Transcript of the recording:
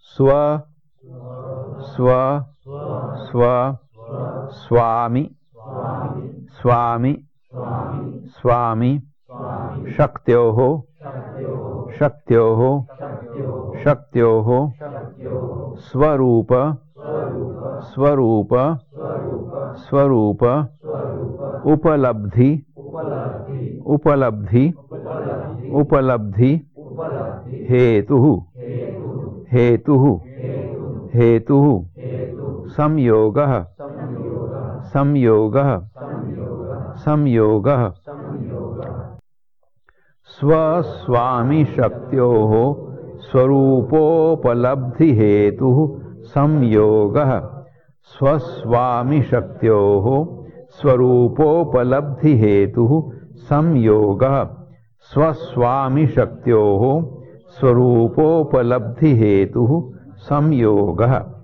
स्व स्व स्व स्वामी स्वामी स्वामी शक्त्योः शक्त्योः शक्त्योः स्वरूप स्वरूप स्वरूप उपलब्धि उपलब्धि उपलब्धि हेतुः हेतुः हेतुः संयोगः संयोगः संयोगः स्वस्वामी शक्त्योः स्वरूपोपलब्धि हेतुः संयोगः स्वस्वामी शक्त्योः स्वरूपोपलब्धि हेतुः संयोगः स्वस्वामी शक्त्योः स्वरूपोपलब्धि हेतुः संयोगः।